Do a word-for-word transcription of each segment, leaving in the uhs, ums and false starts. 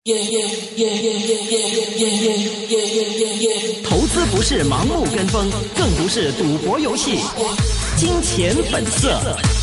投资不是盲目跟风，更不是赌博游戏。金钱本色。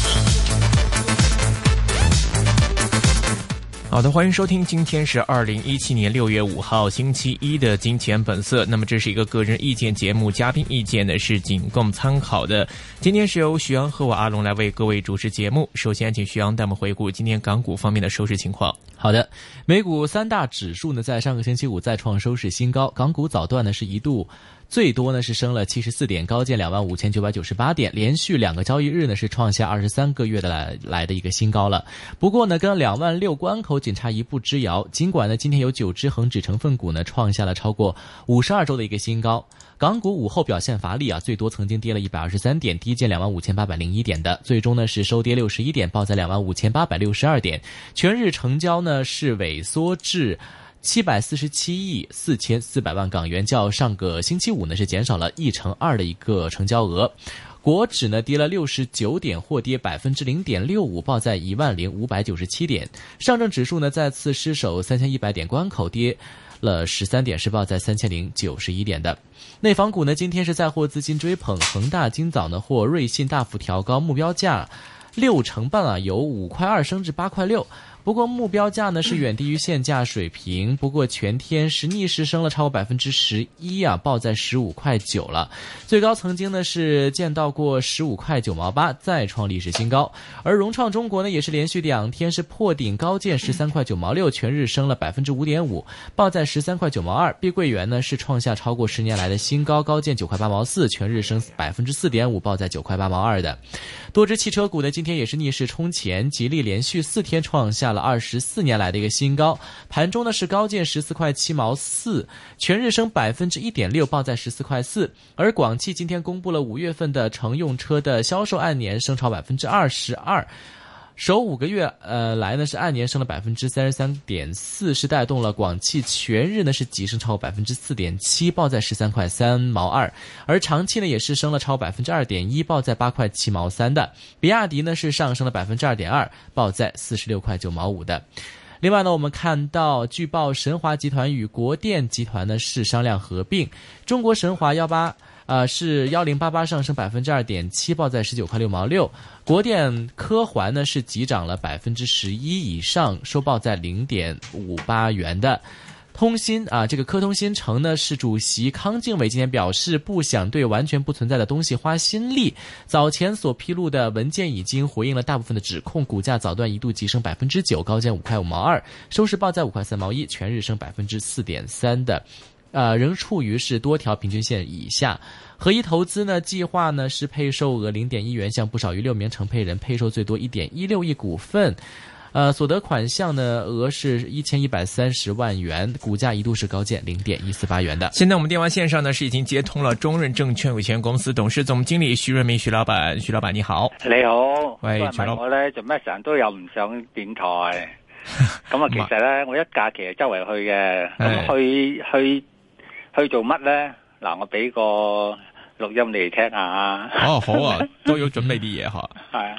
好的，欢迎收听，今天是二零一七年六月五号星期一的金钱本色。那么这是一个个人意见节目，嘉宾意见呢是仅供参考的。今天是由徐阳和我阿龙来为各位主持节目。首先请徐阳带我们回顾今天港股方面的收市情况。 好的，美股三大指数呢在上个星期五再创收市新高，港股早段呢是一度最多呢是升了七十四点，高见两万五千九百九十八点，连续两个交易日呢是创下二十三个月的来来的一个新高了。不过呢，跟两万六关口仅差一步之遥。尽管呢，今天有九只恒指成分股呢创下了超过五十二周的一个新高。港股午后表现乏力啊，最多曾经跌了一百二十三点，低见两万五千八百零一点的，最终呢是收跌六十一点，报在两万五千八百六十二点。全日成交呢是萎缩至七百四十七亿四千四百万港元，较上个星期五呢是减少了一成二的一个成交额。国指呢跌了六十九点，或跌百分之零点六五，报在一万零五百九十七点。上证指数呢再次失守三千一百点关口，跌了十三点，是报在三千零九十一点的。内房股呢今天是再获资金追捧，恒大今早呢或瑞信大幅调高目标价六成半啊，由五块二升至八块六。不过目标价呢是远低于现价水平，不过全天是逆势升了超过百分之十一啊，报在十五块九了。最高曾经呢是见到过十五块九毛八，再创历史新高。而融创中国呢也是连续两天是破顶高见十三块九毛六，全日升了百分之五点五，报在十三块九毛二。碧桂园呢是创下超过十年来的新高，高见九块八毛四，全日升百分之四点五，报在九块八毛二的。多只汽车股呢今天也是逆势冲前，吉利连续四天创下了二十四年来的一个新高，盘中呢是高见十四块七毛四，全日升百分之一点六，报在十四块四。而广汽今天公布了五月份的乘用车的销售按年升超百分之二十二。首五个月呃来呢是按年升了百分之三十三点四，是带动了广汽全日呢是急升超过百分之四点七，报在十三块三毛二。而长汽呢也是升了超百分之二点一，报在八块七毛三的。比亚迪呢是上升了百分之二点二，报在四十六块九毛五的。另外呢，我们看到据报神华集团与国电集团呢是商量合并，中国神华幺八。呃，是一零八八上升百分之二点七，报在十九块六毛六。国电科环呢是急涨了百分之十一以上，收报在零点五八元的。通信啊，这个科通新城呢是主席康敬伟今天表示，不想对完全不存在的东西花心力。早前所披露的文件已经回应了大部分的指控，股价早段一度急升百分之九，高见五块五毛二，收市报在五块三毛一，全日升百分之四点三的。呃，仍处于是多条平均线以下。合一投资呢，计划呢是配售额零点一元，向不少于六名承配人配售最多一点一六亿股份。呃，所得款项呢额是一千一百三十万元，股价一度是高见零点一四八元的。 现在我们电话线上呢是已经接通了中润证券有限公司董事总经理徐润明徐老闆，徐老闆你好。 你好， 喂，徐老闆， 我咧做咩成日都有唔上電台？咁啊，其實咧我一假期係周圍去嘅，咁去去去做乜咧？嗱，我俾個錄音你哋聽下。 哦，好啊，都要準備啲嘢嚇。 係啊。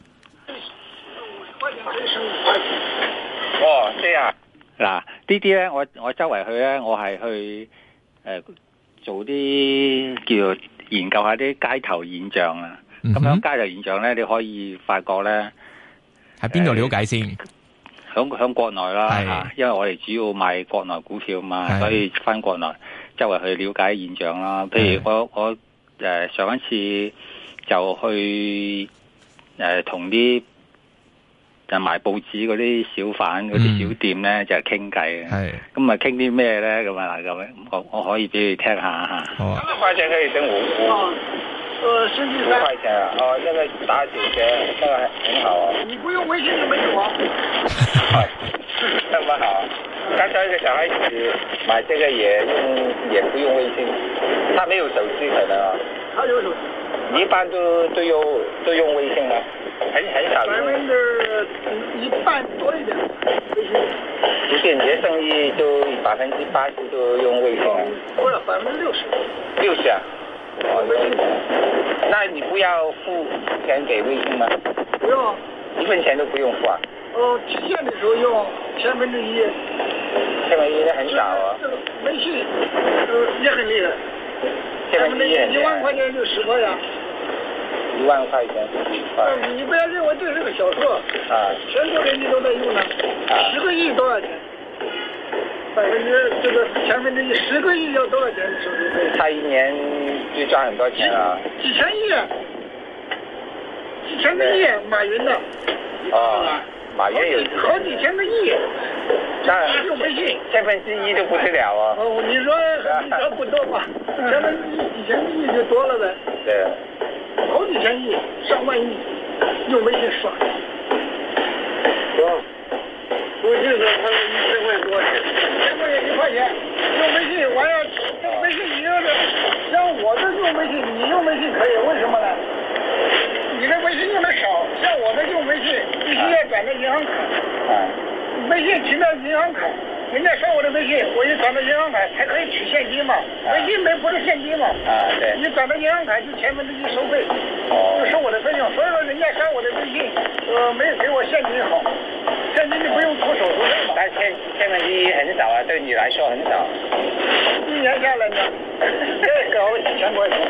哦，即係嗱，呢啲咧，我我周圍去咧，我係去誒、呃、做啲叫做研究下啲街頭現象啊。咁、嗯、樣街頭現象咧，你可以發覺咧， 喺邊度了解先？ 響響國內啦嚇，因為我哋主要賣國內股票嘛，所以返國內周圍去了解現象啦。譬如我我誒、呃、上一次就去誒同啲就賣報紙嗰啲小販嗰啲小店咧、嗯，就係傾偈嘅。咁啊傾啲咩咧？咁啊咁，我我可以俾你聽下嚇。好啊。咁塊錢可以整五五。呃，十幾塊錢啊！哦，那個打九折，那個很好啊。你不用微信就沒有啊。係，那麼好。剛才一個小孩子買這個也用，也不用微信，他沒有手機可能啊。他有手機。你一般都都用都用微信嗎？很很少用。百分之一半多一點微信。就是你的生意就百分之八十都用微信啊？不是，百分之六十。六十啊？哦，那你不要付錢給微信嗎？不用，一分錢都不用付啊？哦，期限的時候用千分之一。 一很少啊。 微信也很厉害， 千分之一一万块钱就十块呀。 一万块钱十块。 你不要认为这是个小数啊， 全国人民都在用呢。 啊， 十个亿多少钱？百分之这个千分之一，十个亿要多少钱手续费？ 他一年就赚很多钱啊。 几千亿，几千个亿，马云的。 哦，马云有好几千个亿。 那用微信， 千分之一都不得了啊。 哦，你说你说不多吧？千分之一几千个亿就多了呗。 对。 好几千亿，上万亿，用微信刷。行。微信说他一千块多少钱？一千块钱一块钱，用微信完了，用微信你要是像我这用微信，你用微信可以，为什么呢？你的微信用的少，像我这用微信必须要转到银行卡。 啊。 微信停到银行卡，人家刷我的微信，我一转到银行卡才可以取现金嘛。微信没不是现金嘛？ 啊，对。 你转到银行卡就千分之一收费， 哦， 就收我的费用。所以说人家刷我的微信，呃，没有给我现金好，现金就不用出手续费嘛。 但千千分之一很少啊，对你来说很少。 一年下来呢，这搞了几千块钱，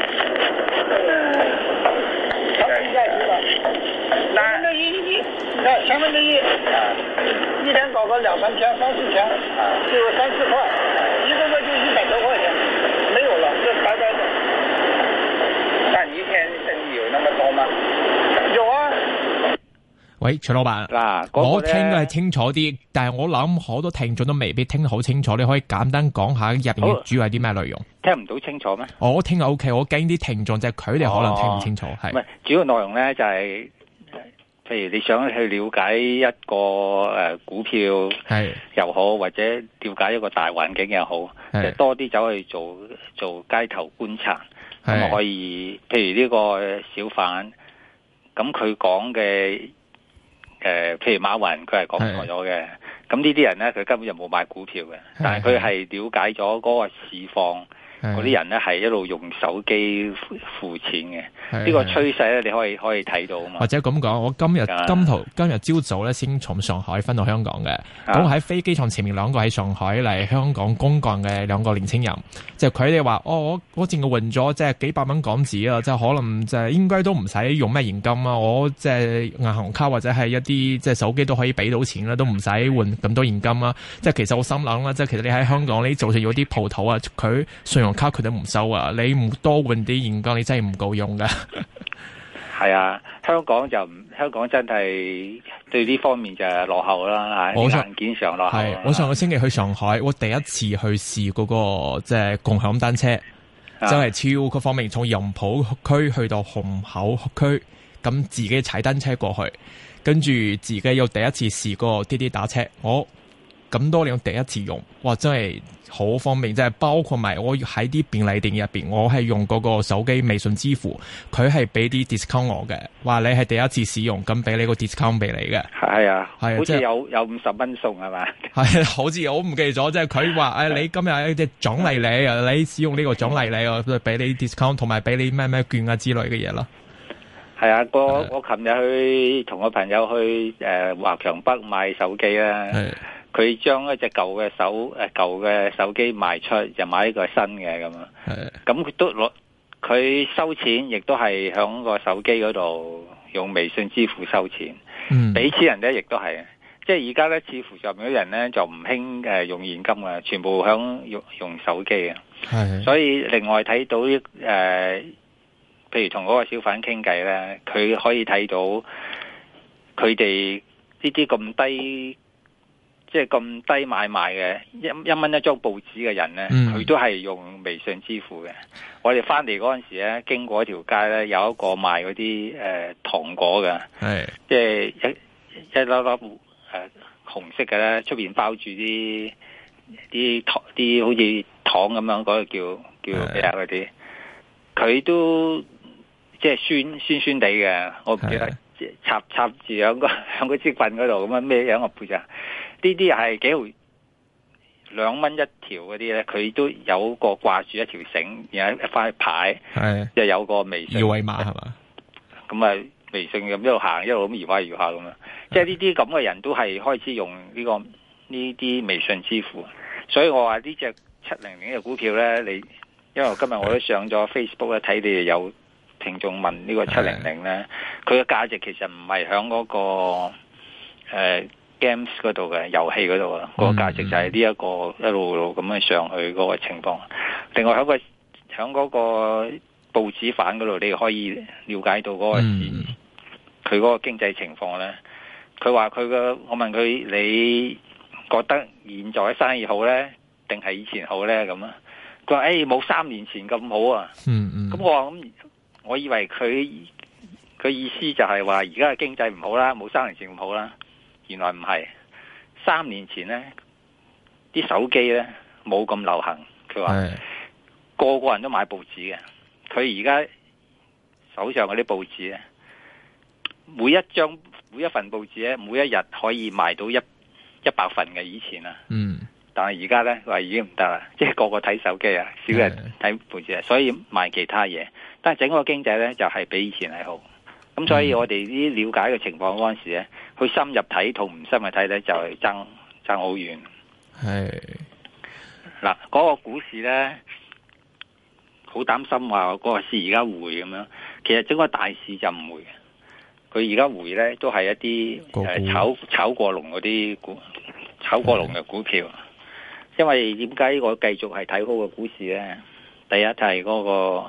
长期下去了。千分之一，你看千分之一，一天搞个两三千、三四千，就有三四块，一个月就一百多块钱，没有了，这白白的。 那你一天生意有那麼多嗎？ 有啊。 喂，徐老闆， 嗱、 那個，我聽嘅係清楚啲，但係我諗好多聽眾都未必聽得好清楚，你可以簡單講下入邊主要係啲咩內容？ 聽唔到清楚咩？ 我聽就 O K， 我驚啲聽眾即係佢哋可能聽唔清楚，係、 哦。唔係主要內容咧就係、是。譬如你想去了解一個誒股票又好，或者了解一個大環境又好，就多啲走去做做街頭觀察，咁啊可以。譬如呢個小販，咁佢講嘅誒，譬如馬雲佢係講錯咗嘅，咁呢啲人咧佢根本就冇買股票嘅，但係佢係了解咗嗰個市況。嗰啲人咧係一路用手機付錢嘅，呢、這個趨勢咧你可以可以睇到啊嘛。 或者咁講，我今日今頭今日朝早咧先從上海返到香港嘅，咁喺、啊、飛機場前面兩個喺上海嚟香港公幹嘅兩個年輕人，就佢哋話：哦，我我淨係換咗即係幾百蚊港紙啊，即係可能即係應該都唔使用咩現金啊，我即係銀行卡或者係一啲即係手機都可以俾到錢啦，都唔使換咁多現金啊。即係其實我心諗啦，即係其實你喺香港你就算有啲鋪頭啊，佢信用卡佢都唔收啊！你唔多換啲現金，你真係唔夠用噶。 係啊，香港就唔香港真係對呢方面就係落後啦，喺硬件上落後。係， 我上個星期去上海，我第一次去試嗰、那個即係、就是、共享單車，真係超個方面，從楊浦區去到虹口區，咁自己踩單車過去，跟住自己又第一次試過滴滴打車，我咁多年第一次用，哇！真係好方便，即係包括埋我喺啲便利店入邊，我係用嗰個手機微信支付，佢係俾啲 discount 我嘅，話你係第一次使用，咁俾你個 discount 俾你嘅。 係啊， 係好似有有五十蚊送係嘛？ 係，好似我唔記得咗，即係佢話誒，你今日有啲獎勵你啊，你使用呢個獎勵你啊，俾你 discount 同埋俾你咩咩券啊之類嘅嘢咯。 係啊，我我琴日去同個朋友去誒華強北買手機啦。佢將一隻舊嘅手誒舊嘅手機賣出，就買一個新嘅咁啊。咁佢都攞佢收錢，亦都係響個手機嗰度用微信支付收錢。嗯，俾錢人咧，亦都係。即係而家咧，似乎上面啲人咧就唔興誒用現金啊，全部響用用手機啊。係。所以另外睇到誒、呃，譬如同嗰個小販傾偈咧，佢可以睇到佢哋呢啲咁低。即係咁低買賣嘅一一蚊一張報紙嘅人咧，佢、嗯、都係用微信支付嘅。我哋翻嚟嗰陣時咧，經過一條街咧，有一個賣嗰啲誒糖果嘅，即係一一粒粒誒、呃、紅色嘅咧，出邊包住啲啲糖啲好似糖咁樣嗰、嗰個叫叫咩啊嗰啲，佢都即係酸酸酸地嘅，我唔記得插插住喺個喺個支棍嗰度咁樣咩樣個配咋？呢啲係幾毫兩蚊一條嗰啲咧，佢都有個掛住一條繩，然後一塊牌，又有個微信二維碼係嘛？ 咁啊，微信咁一路行一路咁搖下搖下咁樣，即係呢啲咁嘅人都係開始用呢、呢個呢啲微信支付， 所以我話呢隻七零零嘅股票咧，你因為我今日我都上咗 Facebook 咧睇你哋有聽眾問呢個七零零咧，佢嘅價值其實唔係響嗰個誒、呃、games 嗰度嘅遊戲嗰度啊，個價值就係呢一個一路路咁樣上去嗰個情況。另外喺個響嗰個報紙版嗰度，你可以了解到嗰個市佢嗰個經濟情況咧。佢話佢嘅，我問佢你覺得現在生意好咧，定係以前好咧？咁啊，佢話誒冇三年前咁好啊。 嗯嗯。咁我話咁，我以為佢佢意思就係話而家嘅經濟唔好啦，冇三年前咁好啦。原來唔係，三年前咧啲手機咧冇咁流行。佢話個個人都買報紙嘅，佢而家手上嗰啲報紙咧，每一張。每一份報紙咧，每一日可以賣到一一百份嘅以前啊，嗯，但係而家咧話已經唔得啦，即係個個睇手機啊，少人睇報紙啊，所以賣其他嘢。但係整個經濟咧就係、是、比以前係好，咁所以我哋呢了解嘅情況嗰陣時咧，去深入睇同唔深入睇咧就係爭爭好遠。係嗱，嗰、那個股市咧好擔心話嗰個市而家回咁樣，其實整個大市就唔會嘅。佢而家回咧都係一啲誒炒炒過龍嗰啲股，炒過龍嘅股票。因為點解我繼續係睇好個股市咧？第一就係嗰個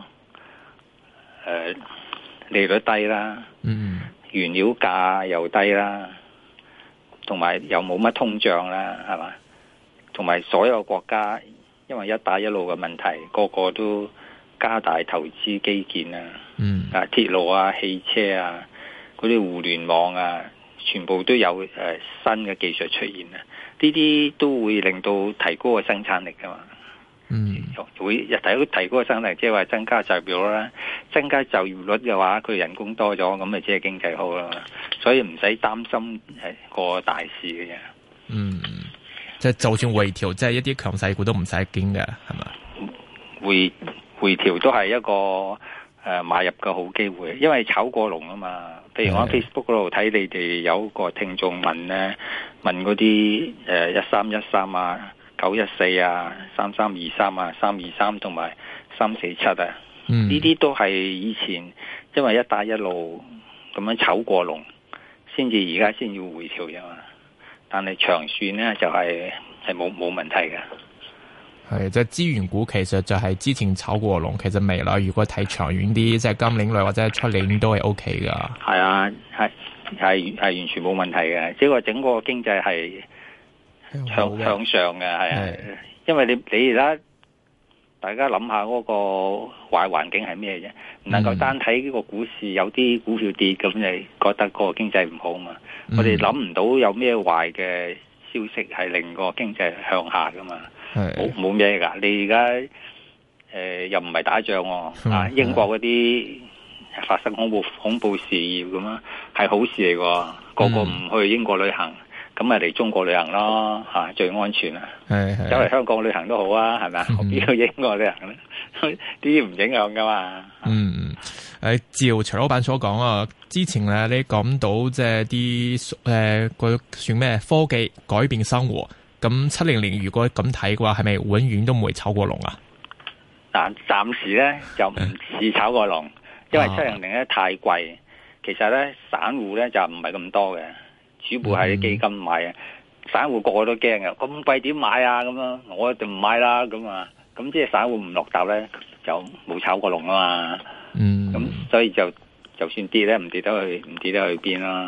誒利率低啦，嗯，原料價又低啦，同埋又冇乜通脹啦，係嘛？同埋所有國家因為一帶一路嘅問題，個個都加大投資基建啊，嗯，啊鐵路啊、汽車啊。嗰啲互聯網啊，全部都有誒、呃、新嘅技術出現啊！呢啲都會令到提高個生產力噶嘛。嗯，會日提提高個生產力，即係話增加就業率啦。增加就業率嘅話，佢人工多咗，咁咪即係經濟好啦。所以唔使擔心係個大市嘅嘢。嗯， 即係就算回調，即係一啲強勢股都唔使驚嘅，係嘛？ 回回調都係一個誒、呃、買入嘅好機會，因為炒過龍啊嘛。譬如我喺 Facebook 嗰度睇你哋有個聽眾問咧，問嗰啲誒一三一三啊、九一四啊、三三二三啊、三二三同埋三四七啊，呢啲、嗯、都係以前因為一帶一路咁樣炒過龍，先至而家先要回調啫嘛。但係長線咧就係係冇冇問題嘅。 係即係資源股，其實就係之前炒過龍，其實未來如果睇長遠啲，即係今年內或者出年都係 O K 噶。 係啊，係係係完全冇問題嘅，即係話整個經濟係向向上嘅，係啊。因為你你而家大家諗下嗰個壞環境係咩啫？唔能夠單睇呢個股市有啲股票跌，咁你覺得個經濟唔好嘛？嗯、我哋諗唔到有咩壞嘅消息係令個經濟向下噶嘛？冇冇咩噶？你而家誒又唔係打仗喎、啊嗯、啊！英國嗰啲發生恐怖恐怖事業咁啊，係好事嚟㗎。個個唔去英國旅行，咁咪嚟中國旅行咯嚇、啊，最安全啊！走嚟香港旅行都好啊，係咪啊？何必去英國旅行咧？呢啲唔影響㗎嘛。嗯， 誒照徐老闆所講啊，之前咧你講到即係啲誒個算咩科技改變生活。咁七零零如果咁睇嘅話，係咪永遠都唔會炒過龍啊？ 但暫時咧就唔似炒過龍，因為七零零咧太貴。其實咧散戶咧就唔係咁多嘅，主要係啲基金買啊。嗯、散戶個個都驚嘅，咁貴點買啊？咁樣我一定唔買啦。咁啊，咁即係散戶唔落踏咧，就冇炒過龍啊嘛。嗯，咁所以就就算跌咧，唔跌得去，唔跌得去邊啦。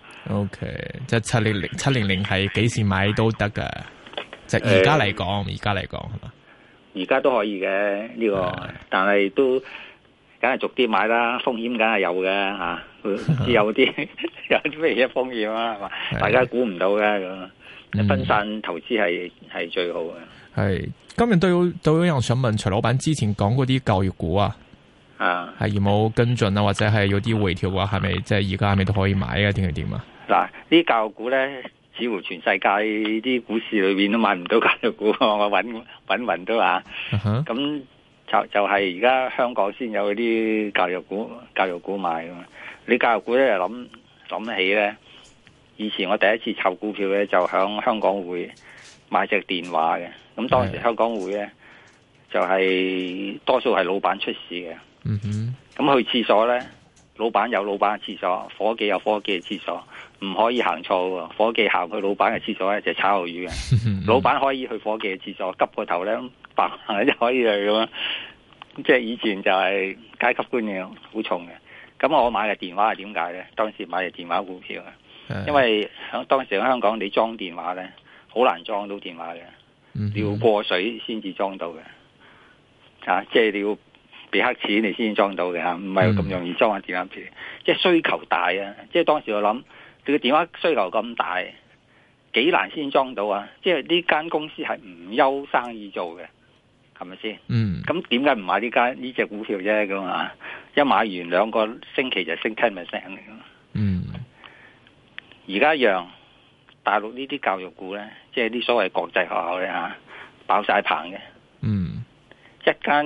O K， 即係七零零七零零係幾時買都得噶，即係而家嚟講，而家嚟講係嘛？ 而家都可以嘅呢個，的但係都梗係逐啲買啦，風險梗係有嘅吓，只有啲有啲咩嘢風險啊，係嘛？的大家估唔到嘅咁，嗯、分散投資係係最好嘅。 係今日都有都有人想問徐老闆之前講嗰啲教育股啊，啊係有冇跟進啊，或者係有啲回調啊？係咪即係而家係咪都可以買啊？定係點啊？ 嗱，呢啲教育股咧，似乎全世界啲股市裏邊都買唔到教育股，我搵搵匀都話，咁、uh huh. 就就係而家香港先有啲教育股，教育股買噶嘛。你教育股咧，諗諗起咧，以前我第一次炒股票咧，就響香港會買隻電話嘅。咁當時香港匯咧就係、是、多數係老闆出事嘅。 嗯哼。 咁去廁所咧，老闆有老闆嘅廁所，伙計有伙計嘅廁所，唔可以行錯喎。伙計行去老闆嘅廁所咧就係炒魷魚嘅。老闆可以去伙計嘅廁所，急個頭咧白行就可以去咁樣。即係以前就係階級觀念好重嘅。咁我買嘅電話係點解咧？當時買嘅電話股票啊，因為響當時喺香港你裝電話咧，好難裝到電話嘅，嗯、你要過水先至裝到嘅，啊，即係你要俾黑錢你先裝到嘅吓，唔係咁容易裝下電話片。嗯、即係需求大啊！即係當時我諗，你個電話需求咁大，幾難先裝到啊！即係呢間公司係唔憂生意做嘅。係咪先？嗯，咁點解唔買呢間呢隻股票啫？咁啊，一買完兩個星期就升 ten percent 嚟噶。嗯，而家讓大陸呢啲教育股咧，即係啲所謂國際學校咧吓，爆晒棚嘅。嗯，一間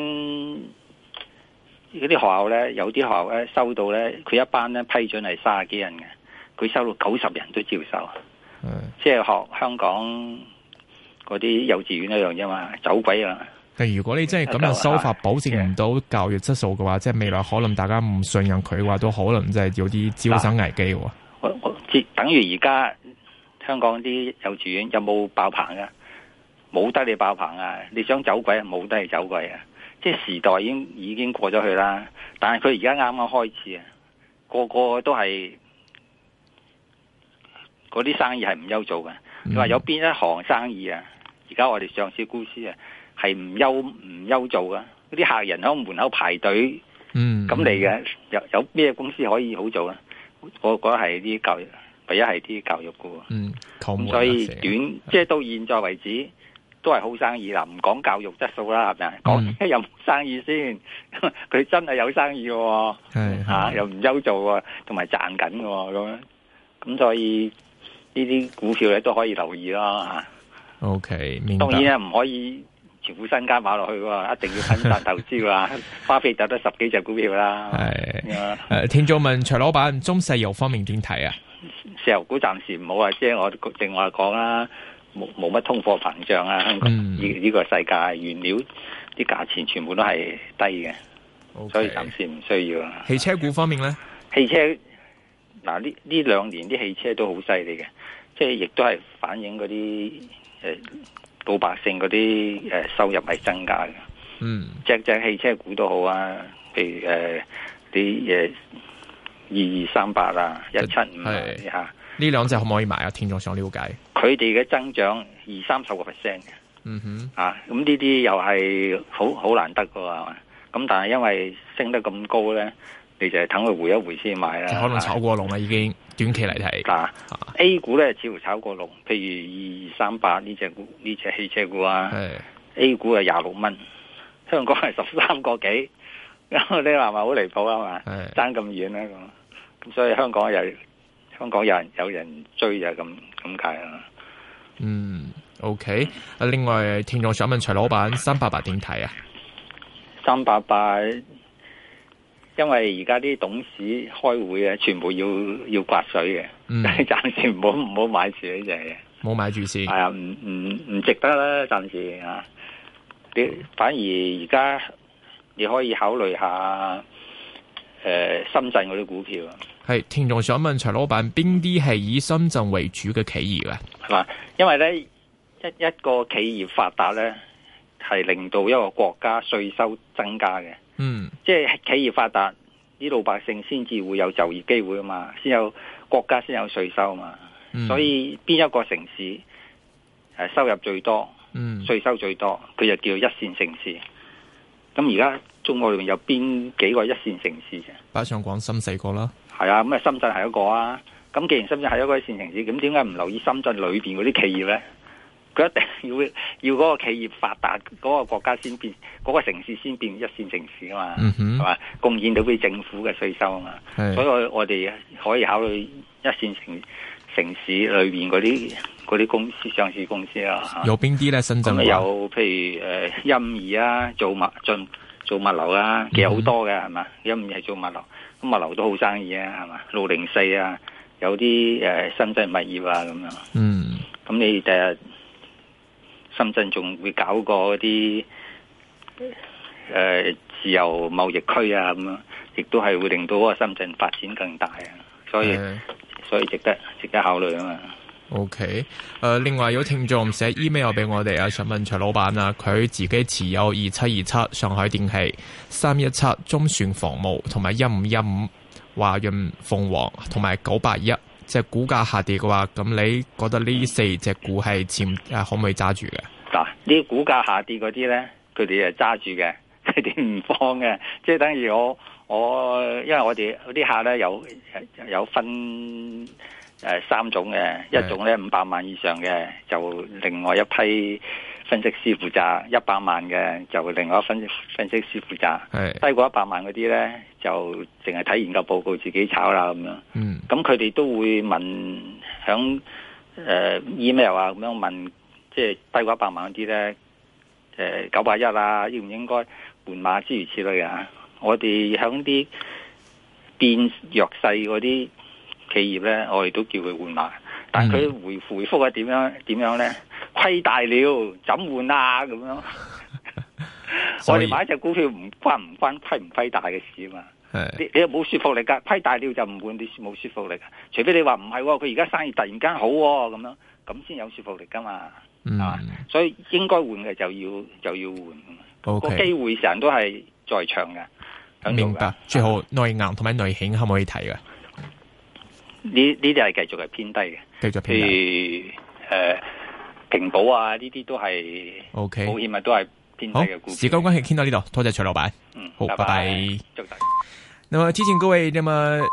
嗰啲學校咧，有啲學校咧收到咧，佢一班咧批准係卅幾人嘅，佢收到九十人都照收。嗯，即係學香港嗰啲幼稚園一樣啫嘛，走鬼啊！ 但如果你真係咁樣收法，保證唔到教育質素嘅話，即係未來可能大家唔信任佢嘅話，都可能真係有啲招生危機。我我等於而家香港啲幼稚園有冇爆棚噶？冇得你爆棚啊！你想走鬼，冇得你走鬼啊！即係時代已經已經過咗去啦。但係佢而家啱啱開始啊，個個都係嗰啲生意係唔憂做嘅。你話、嗯、有邊一行生意啊？而家我哋上市公司啊。係唔憂唔憂做噶，嗰啲客人喺門口排隊，嗯，咁嚟嘅有有咩公司可以好做啊？我覺得係啲教育，唯一係啲教育股，嗯，咁所以短即係到現在為止都係好生意啦，唔講教育質素啦，係咪？講有冇生意先，佢真係有生意嘅，係吓又唔憂做，同埋賺緊嘅咁樣，咁所以呢啲股票咧都可以留意咯吓。 OK，明白。 當然啊，唔可以。全副身家買落去喎，一定要分散投資㗎。巴菲特得十幾隻股票啦。係誒，聽眾問徐老闆，中石油方面點睇啊？ 石油股暫時唔好啊，即係我正話講啦，冇冇乜通貨膨脹啊。香港呢呢個世界原料啲價錢全部都係低嘅，okay. 所以暫時唔需要啊。 汽車股方面咧， 汽車嗱呢呢兩年啲汽車都好犀利嘅，即係亦都係反映嗰啲誒。呃老百姓嗰啲誒收入係增加嘅，嗯，隻隻汽車股都好啊，譬如誒啲誒二二三八啊，一七五啊吓， 呢兩隻可唔可以買啊？聽眾想了解， 佢哋嘅增長二三十個 percent 嘅，嗯哼，啊，咁呢啲又係好好難得噶嘛，咁但係因為升得咁高咧，你就係等佢回一回先買啦， 可能炒過龍啦已經。短期嚟睇，嗱、 啊、A 股咧似乎炒過龍，譬如二二三八呢隻股呢隻汽車股啊 ，A 股係廿六蚊，香港係十三個幾，你話咪好離譜啊嘛？爭咁遠咧咁，咁所以香港又香港有人有人追就咁咁解啦。 嗯 ，OK， 另外聽眾想問徐老闆三八八點睇啊？ 三八八。因為而家啲董事開會啊，全部要要刮水嘅，嗯、暫時唔好唔好買住呢隻嘢， 冇買住先。係啊，唔唔唔值得啦，暫時啊。你反而而家你可以考慮下，誒、呃，深圳嗰啲股票。 係聽眾想問徐老闆，邊啲係以深圳為主嘅企業啊？ 係嘛，因為咧一一個企業發達咧，係令到一個國家稅收增加嘅。嗯，即係企業發達，啲老百姓先至會有就業機會啊嘛，先有國家先有稅收啊嘛，嗯、所以邊一個城市誒、呃、收入最多，嗯，稅收最多，佢就叫一線城市。咁而家中國裏面有邊幾個一線城市啫？ 北上廣深四個啦， 係啊，咁啊深圳係一個啊。咁既然深圳係一個一線城市，咁點解唔留意深圳裏邊嗰啲企業咧？佢一定要要嗰個企業發達，嗰、嗰個國家先變，嗰、嗰個城市先變一線城市啊嘛，係嘛、嗯哼？貢獻到俾政府嘅稅收啊嘛，是所以我我哋可以考慮一線城城市裏邊嗰啲嗰啲公司上市公司啊。 有邊啲咧？深圳有譬如誒陰儀啊，做物進做物流啊，其實好多嘅係嘛？陰儀係做物流，咁物流都好生意啊，係嘛？六零四啊，有啲誒新增物業啊咁樣。嗯，咁你第日。 深圳仲會搞個啲誒自由貿易區啊，咁樣亦都係會令到嗰個深圳發展更大啊，所以、嗯、所以值得值得考慮啊嘛。 OK，誒、呃，另外有聽眾寫 email 俾我哋啊，想問徐老闆啊，佢自己持有二七二七上海電氣、三一七中船防務同埋一五一五華潤鳳凰同埋九八一，即係股價下跌嘅話，咁你覺得呢四隻股係潛誒可唔可以揸住嘅？ 嗱，呢啲股價下跌嗰啲咧，佢哋係揸住嘅，佢哋唔放嘅，即係等於我我，因為我哋嗰啲客咧有有分。誒，三種嘅，一種咧五百萬以上嘅，就另外一批分析師負責；一百萬嘅就另外一分分析師負責。係低過一百萬嗰啲咧，就淨係睇研究報告自己炒啦咁樣。嗯，咁佢哋都會問響誒 email 啊咁樣問，即係低過一百萬嗰啲咧，誒九百一啊，應唔應該換碼諸如此類啊？我哋響啲變弱勢嗰啲企業咧，我哋都叫佢換碼，但係佢回回覆係點樣點樣咧？虧大了，怎換啊？咁樣，我哋買一隻股票唔關唔關虧唔虧大嘅事啊嘛。你你又冇說服力噶，虧大了就唔換，你冇說服力。除非你話唔係，佢而家生意突然間好咁樣，咁先有說服力噶嘛。嗯、啊，所以應該換嘅就要就要換。個機會成日都係在場嘅。 明白。最後內銀同埋內險可唔可以睇嘅？ 呢呢啲係繼續係偏低嘅， 繼續偏低。 譬如誒平保啊，呢啲都係 OK， 保險啊都係偏低嘅股票。 時間關係，傾到呢度，多謝徐老闆。 嗯， 好，拜拜。 祝大家。 那麼提醒各位，那麼。